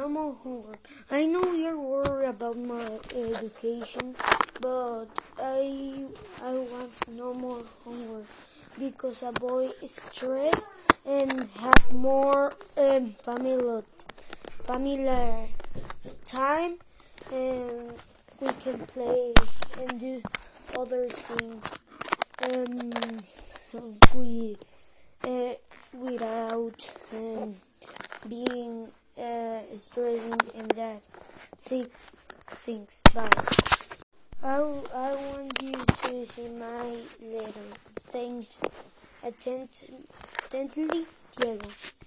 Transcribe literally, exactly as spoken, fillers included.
no more homework. I know you're worried about my education, but I I want no more homework because a boy is stressed and have more um, family family time, and we can play and do other things. Um, we uh, without um, being uh, stressing and that. See, things. Bye. I, I want you to see my letter. Thanks. Attent- attentively, Diego.